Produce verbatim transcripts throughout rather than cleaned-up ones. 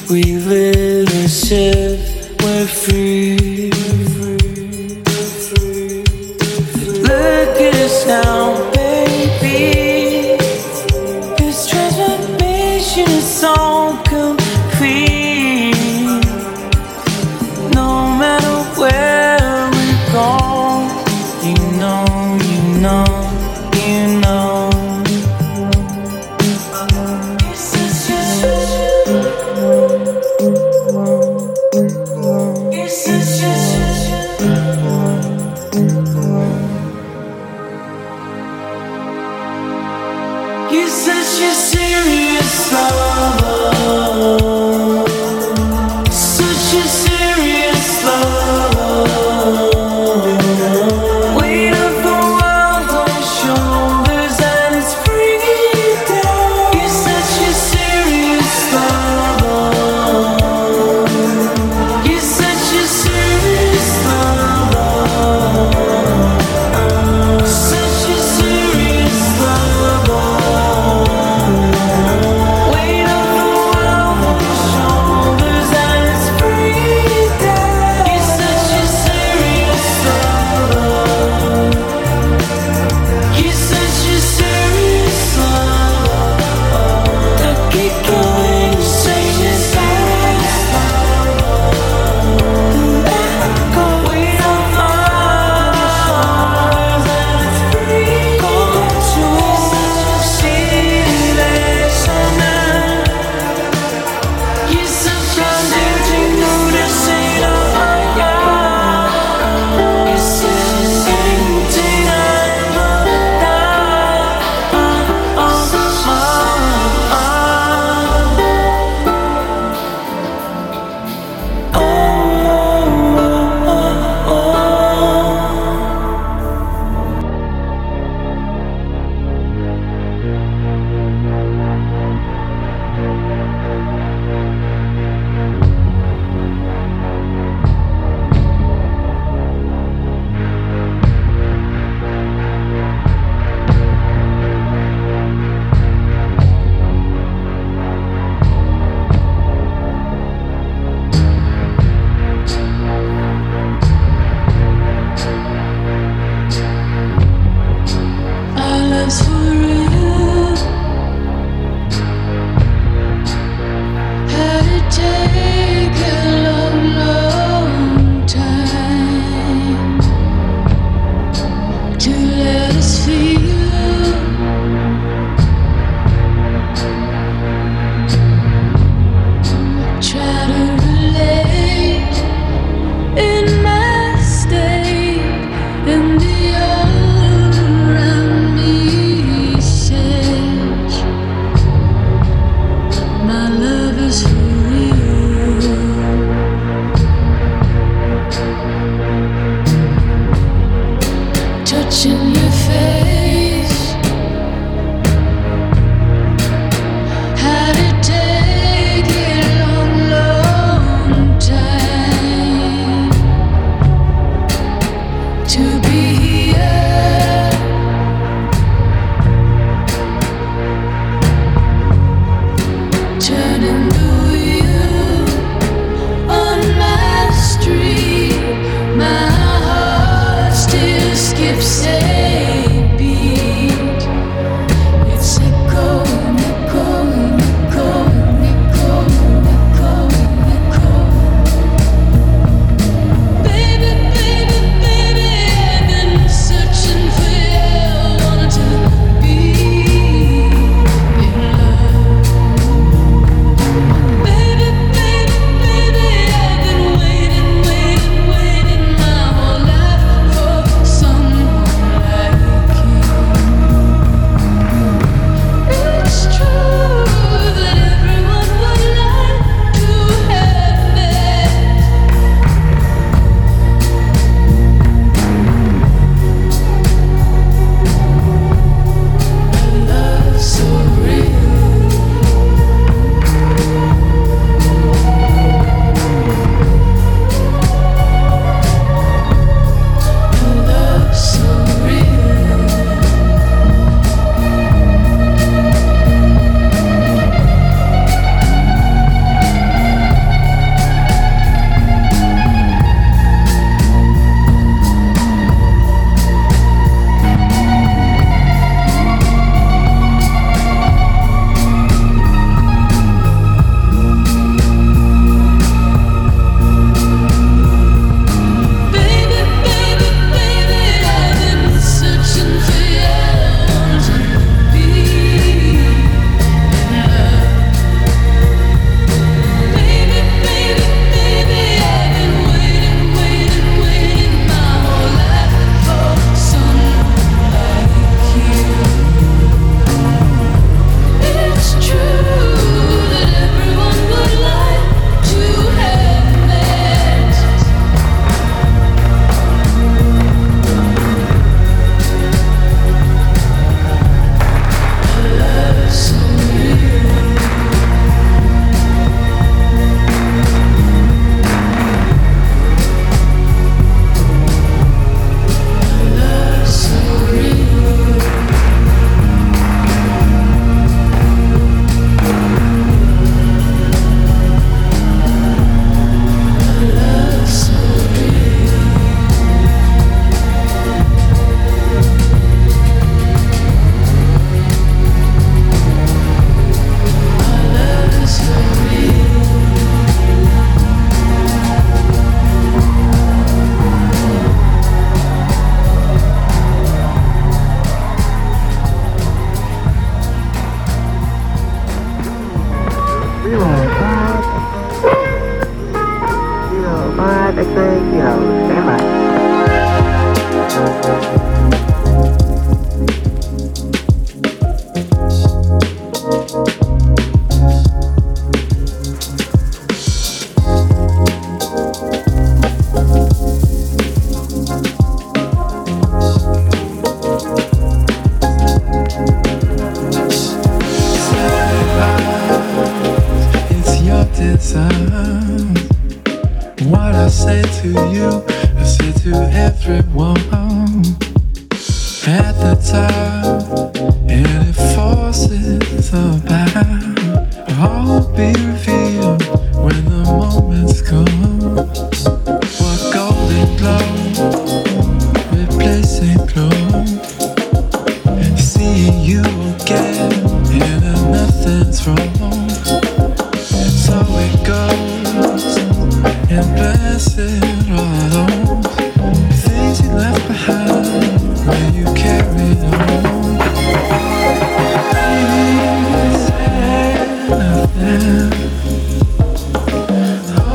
We live and shit, we're free. Look at us now, baby. This transformation is so complete. No matter where we go, you know, you know, you know. You're such a serious lover, such a serious lover. Weight of the world on your shoulders and it's bringing you down. You're such a serious lover. You're such a serious lover. Such a serious lover. Touching your face, how to take it long, long time to be here, turning the wheel. Zero five X-ray kilo, stand by. What I say to you, I say to everyone at the top, and it forces about. All be revealed when the moments come. What golden glow replacing glow. Seeing you again, and nothing's wrong. So it goes, and blessed are those things you left behind when you carried on. Please say nothing. Oh,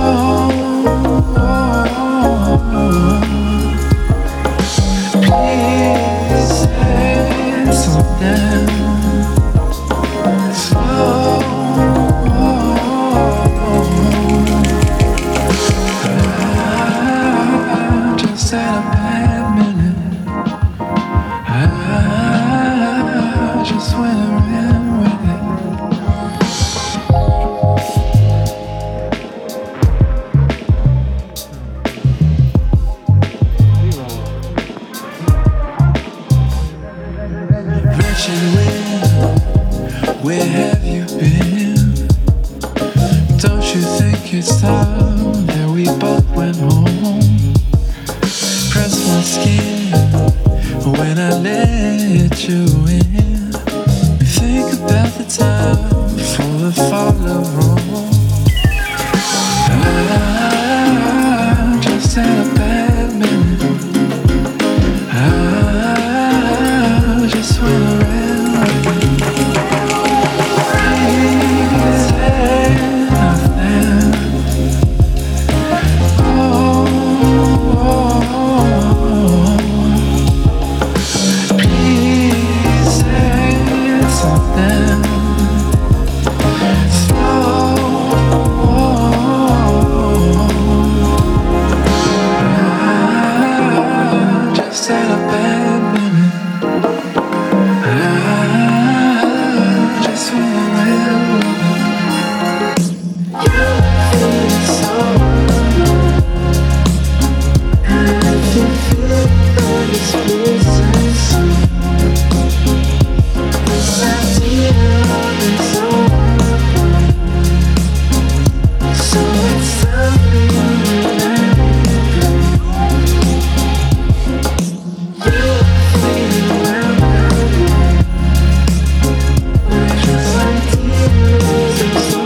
oh, oh. Please say something slow. Had a bad minute. I just went around with it. Wretched wind, where have you been? Don't you think it's time that we both went home? Press my skin when I let you in. Think about the time before the fall of Rome. I just had a bad minute. I just went around. Please say nothing. Oh, oh, oh. Please say something slow. I just had a bad minute. I just went around. You feel so good. I can feel that it's missing some. It's not dear and so so it's something you let go. You feel well, we're just like tears and so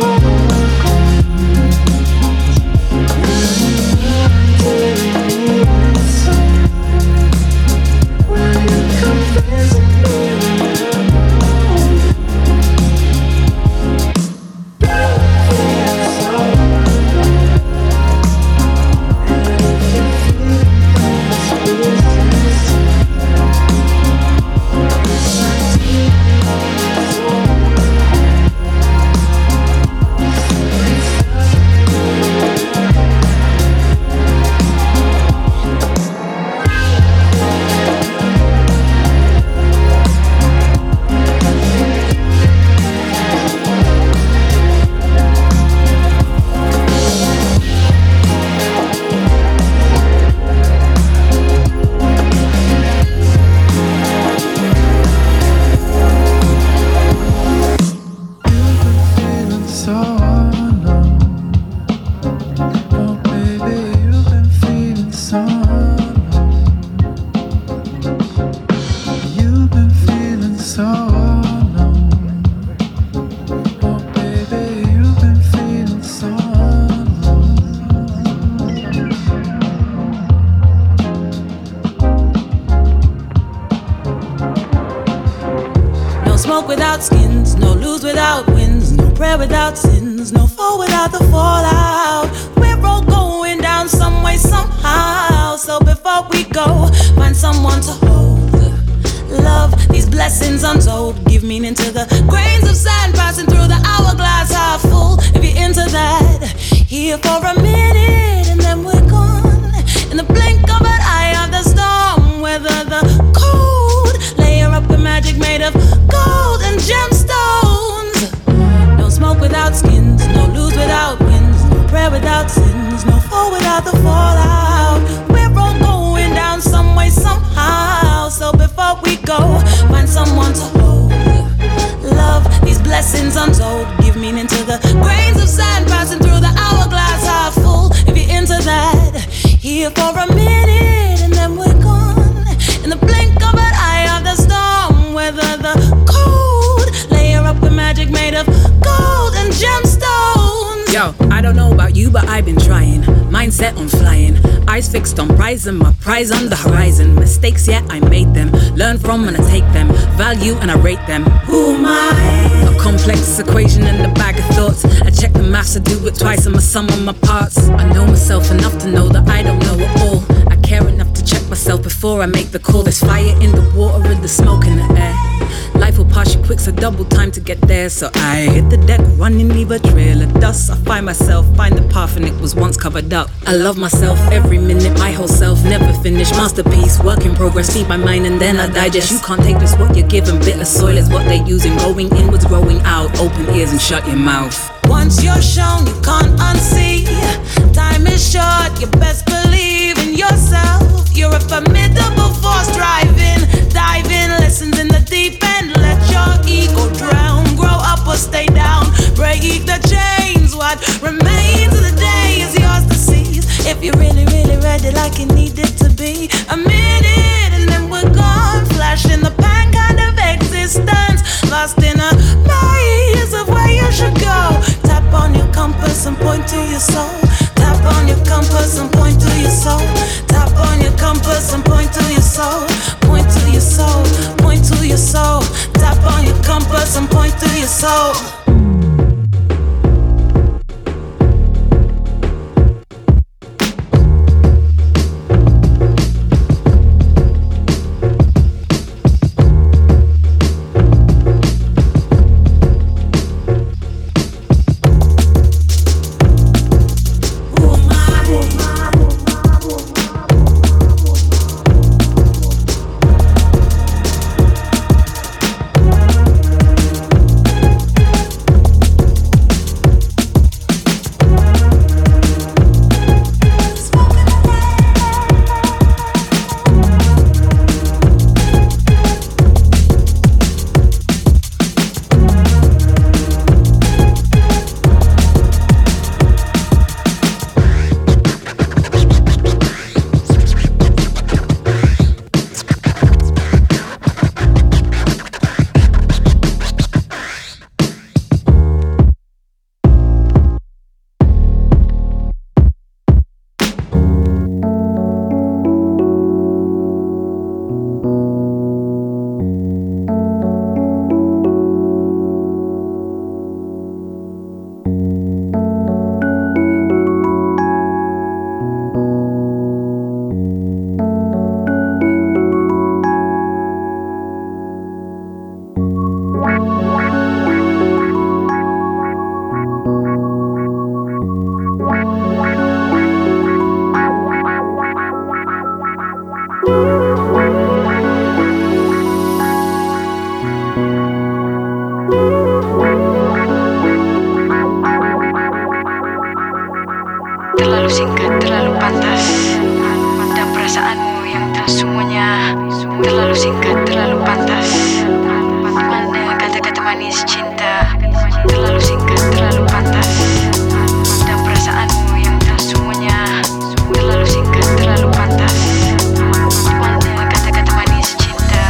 when you come visit me Without skins, no lose without wins, no prayer without sins. skins, no fall without the fallout. We're all going down some way, somehow. So before we go, find someone to hold. Love, these blessings untold. Give meaning to the grains of sand passing through the hourglass half full. If you're into that, here for a minute and then we're gone. In the blink of an eye of the storm, weather the cold. Layer up with magic made of gold and gemstones. No smoke without skins, no lose without wins, no prayer without sins, no fall without the fallout. We're all going down some way, somehow. So before we go, find someone to hold. Love, these blessings untold. Give meaning to the grains of sand passing through the hourglass half full. If you're into that, here for a minute and then we're gone. In the blink of an eye of the storm, weather the cold. Layer up with magic made of gold and gemstones. Yo, I don't know about you, but I've been trying. Mindset on flying, eyes fixed on prize and my prize on the horizon. Mistakes, yeah, I made them. Learn from and I take them. Value and I rate them. Who am I? A complex equation in the bag of thoughts. I check the maths, I do it twice and my sum of my parts. I know myself enough to know that I don't know it all. I care enough to check myself before I make the call. There's fire in the water and the smoke in the air. Life will pass you quick, so double time to get there. So I hit the deck, running, leave a trail of dust. I find myself, find the path and it was once covered up. I love myself every minute, my whole self, never finished. Masterpiece, work in progress, feed my mind and then I digest. You can't take just what you're given, bitter soil is what they're using. Going inwards, growing out, open ears and shut your mouth. Once you're shown, you can't unsee. Time is short, you best believe in yourself. You're a formidable force, driving, diving, lessons in the deep end. Let your ego drown, grow up or stay down. Break the chains, what remains of the day is yours to seize. If you're really, really ready like it needed to be. A minute and then we're gone, flash in the pan kind of existence. Lost in a maze of where you should go. Tap on your compass and point to your soul. Tap on your compass and point to your soul. Tap on your compass and point to your soul. Point to your soul, point to your soul. Tap on your compass and point to your soul. Terlalu singkat, terlalu pantas. Dan perasaanmu yang telah semuanya. Terlalu singkat, terlalu pantas. Mana kata-kata manis cinta. Terlalu singkat, terlalu pantas. Dan perasaanmu yang telah semuanya. Terlalu singkat, terlalu pantas. Mana kata-kata manis cinta.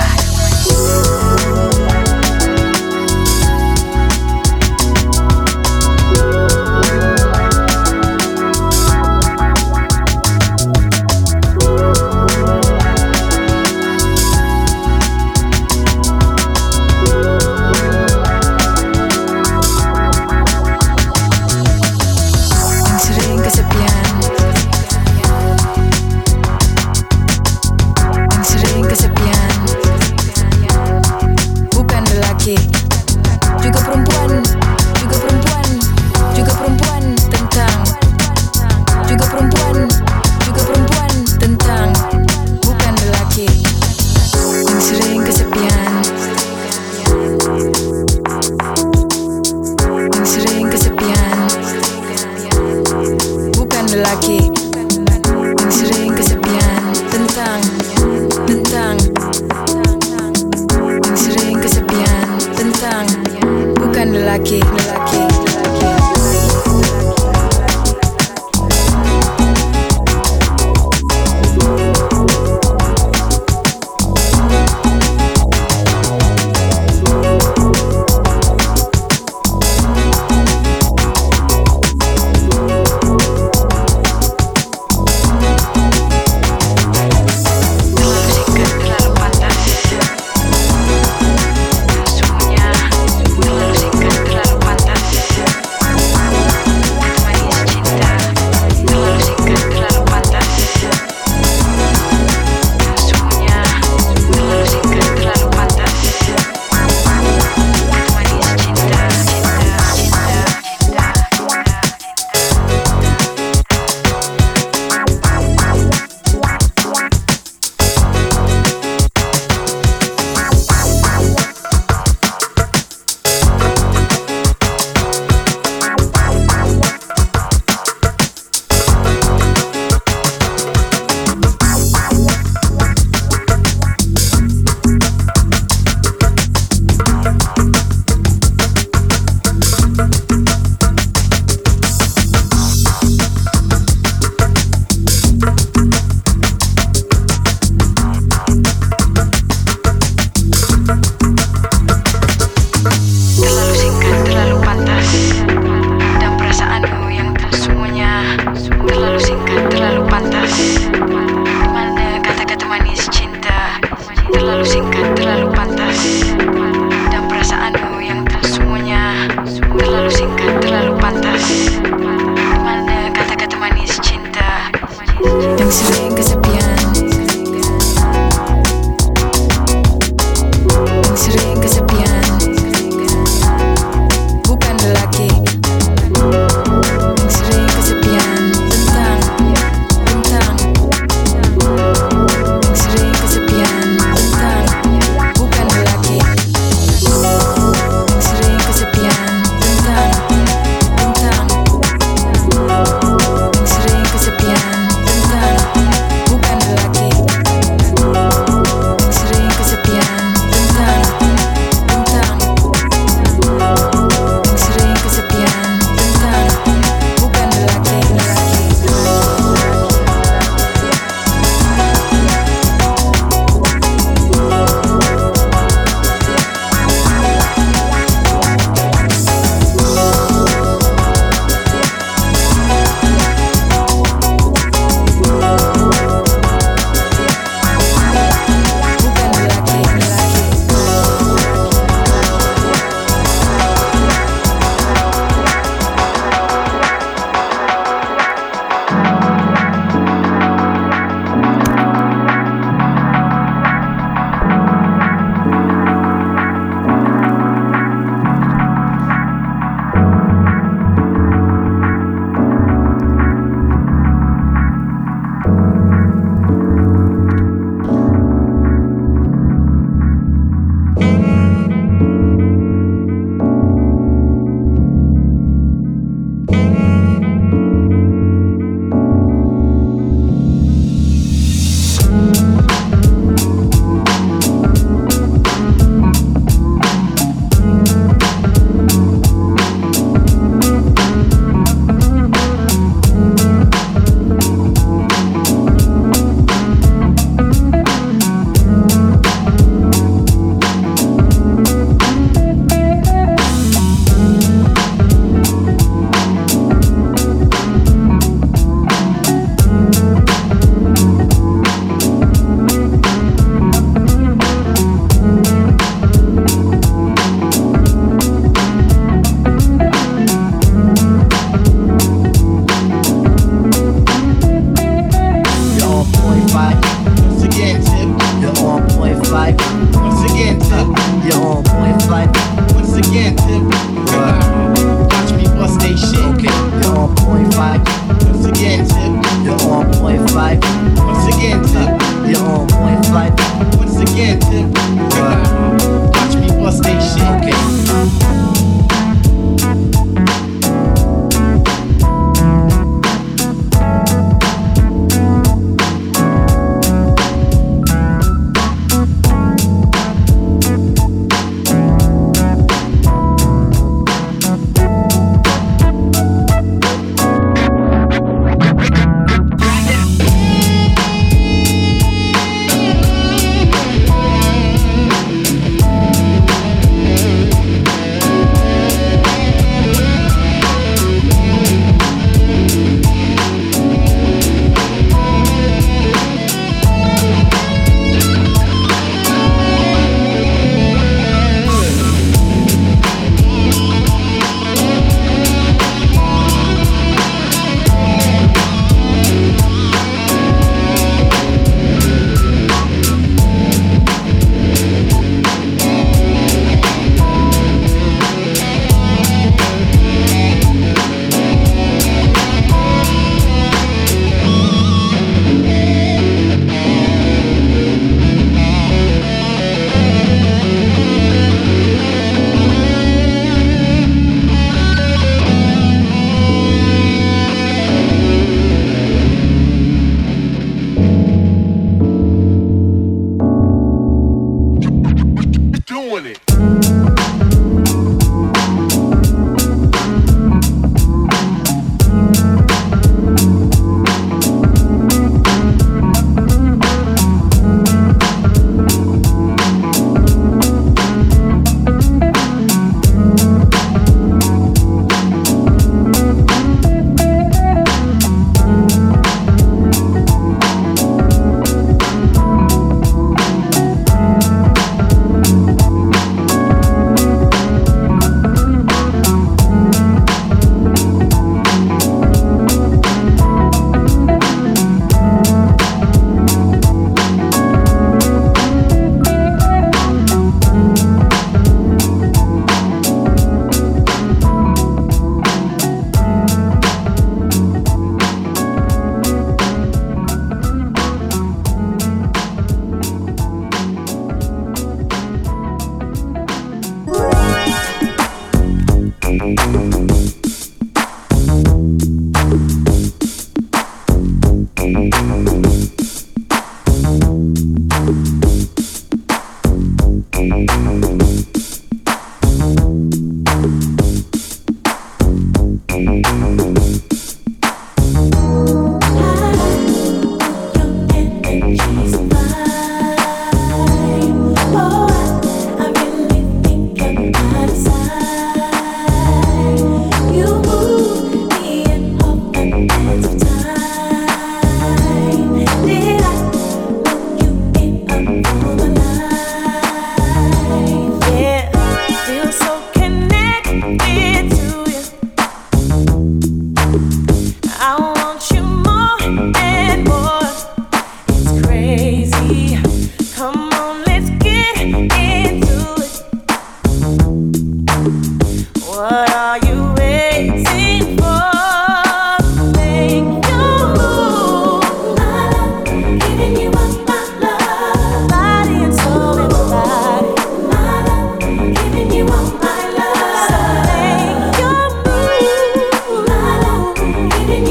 lelaki yang sering kesepian. Tentang, tentang yang sering kesepian. Tentang, bukan lelaki, lelaki, lelaki.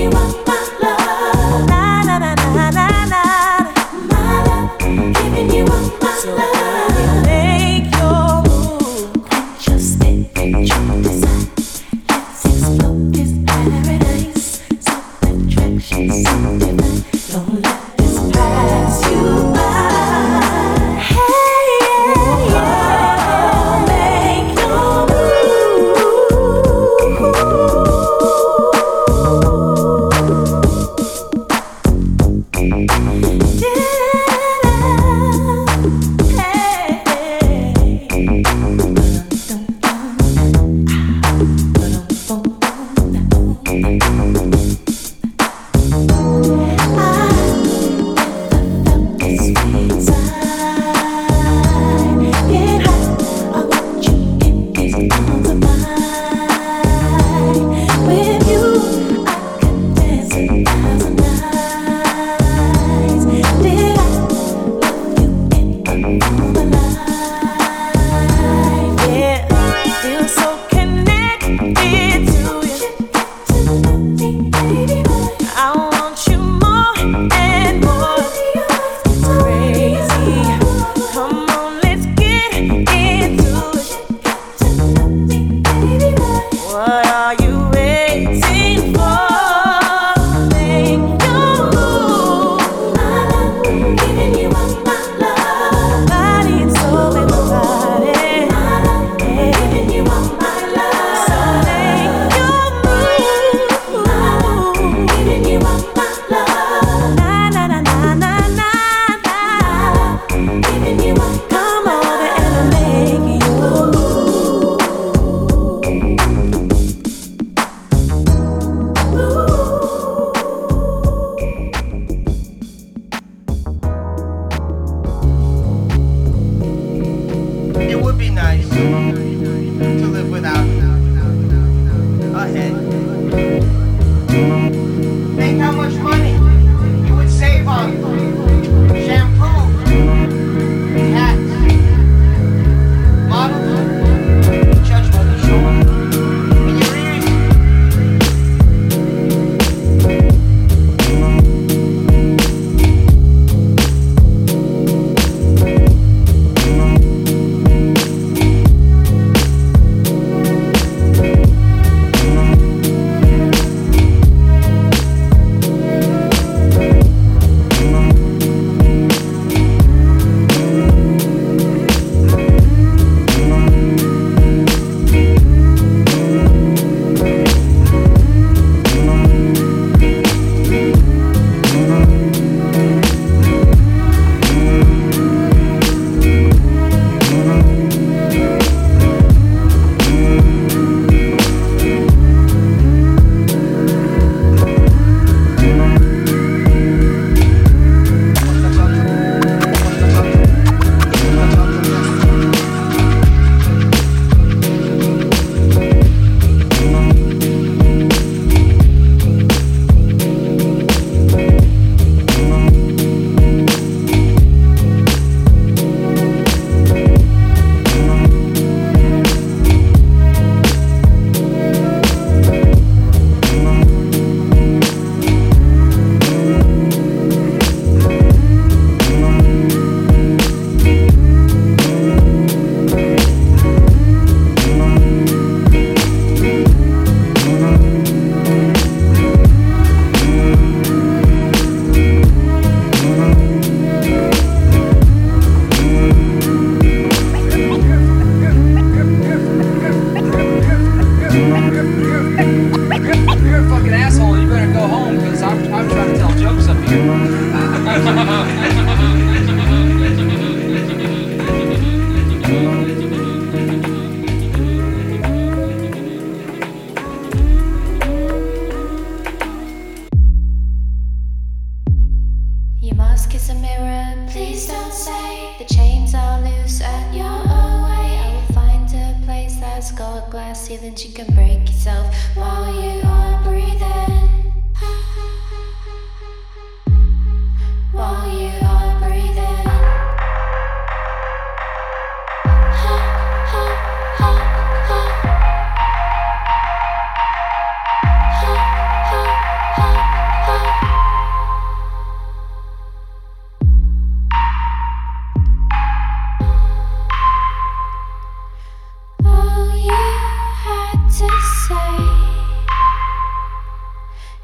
Ha,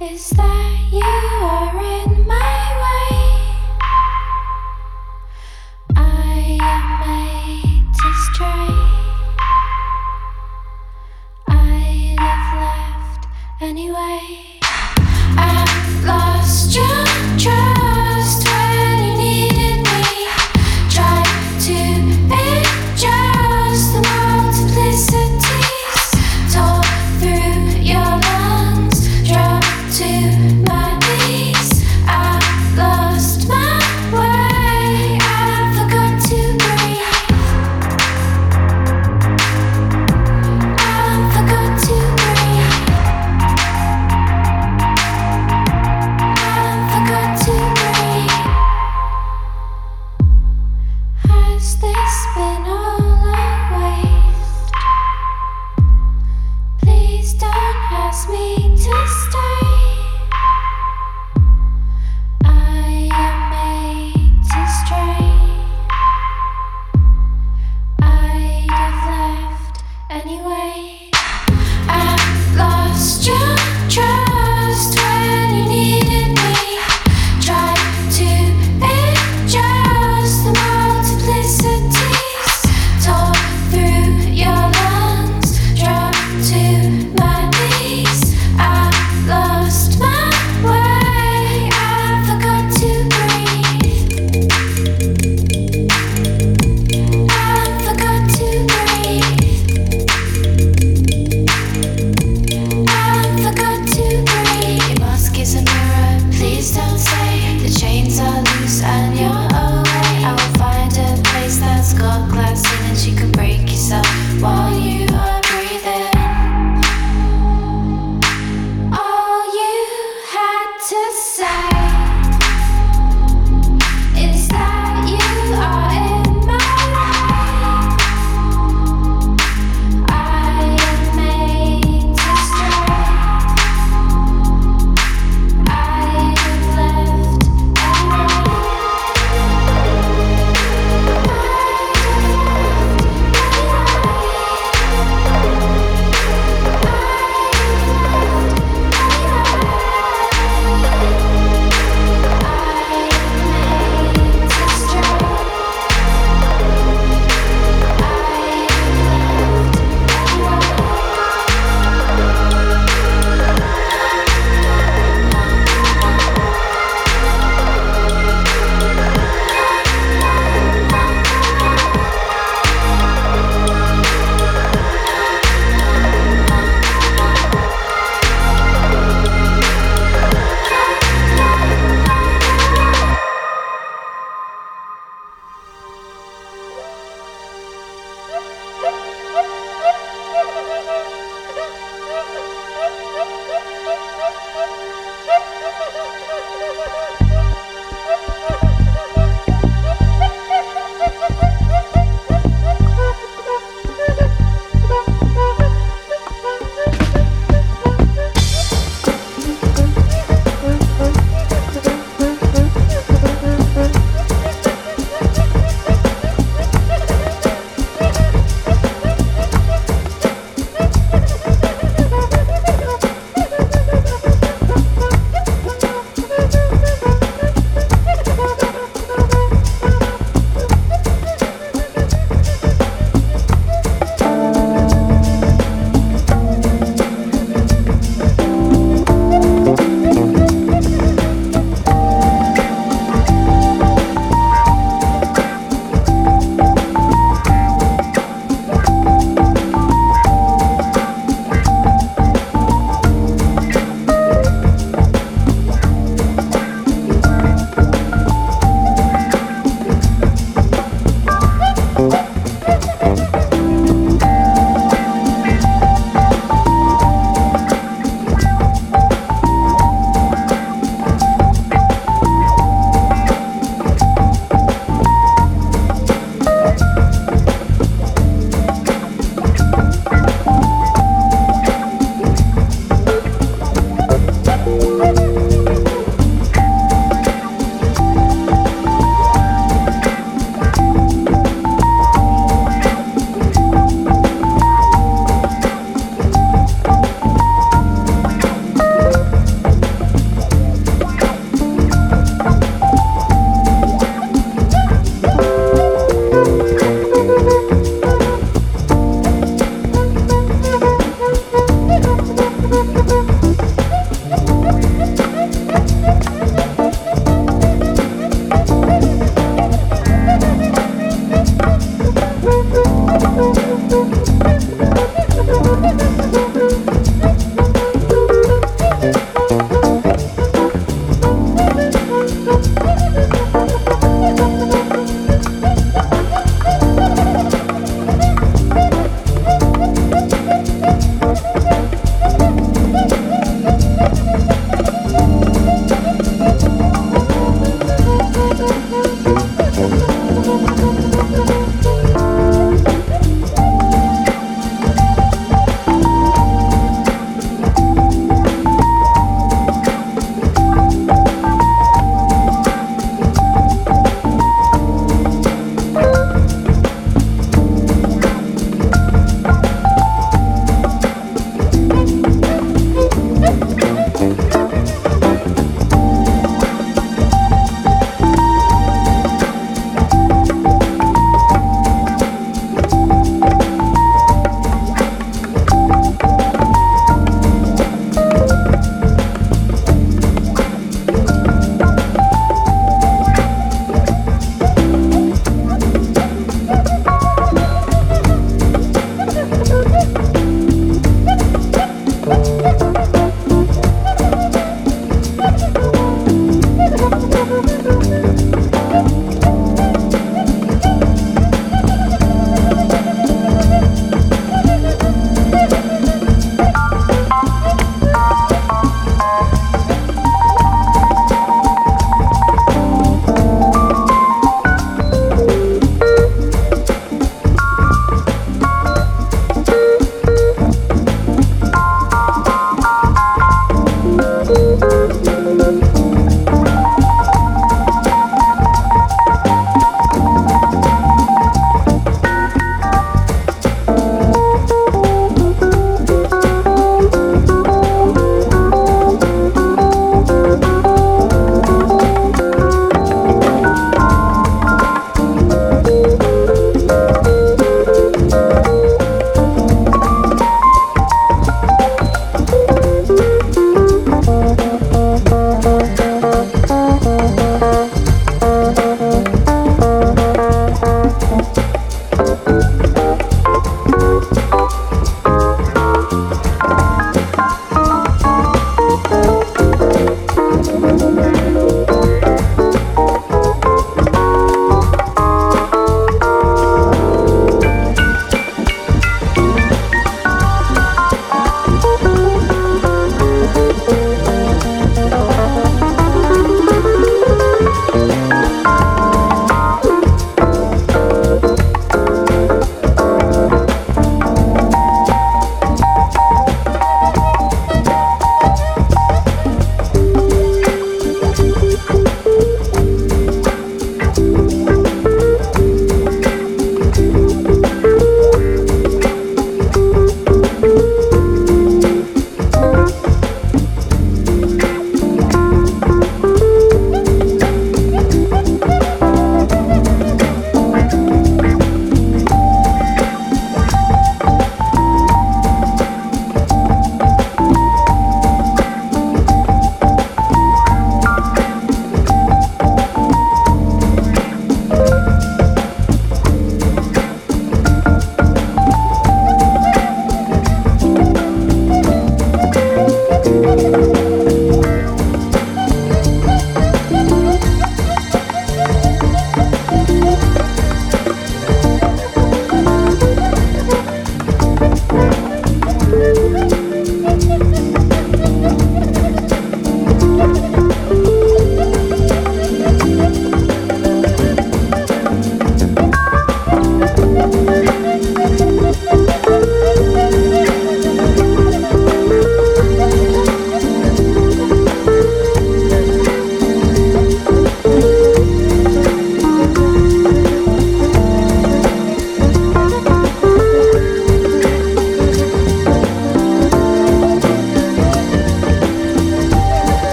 is that you are in my way. I am made to stray. I'd have left anyway. I've lost your trust when you needed me. Tried to adjust the multiplicities. Tore through your lungs, dropped to my knees. I've lost my way. I forgot to breathe. I forgot to breathe.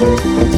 way.